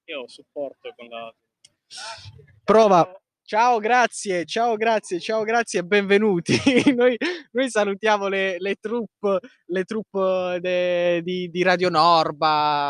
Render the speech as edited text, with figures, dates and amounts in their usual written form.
Io supporto con la... Prova. Ciao, grazie e benvenuti. Noi, noi salutiamo le troupe di Radio Norba,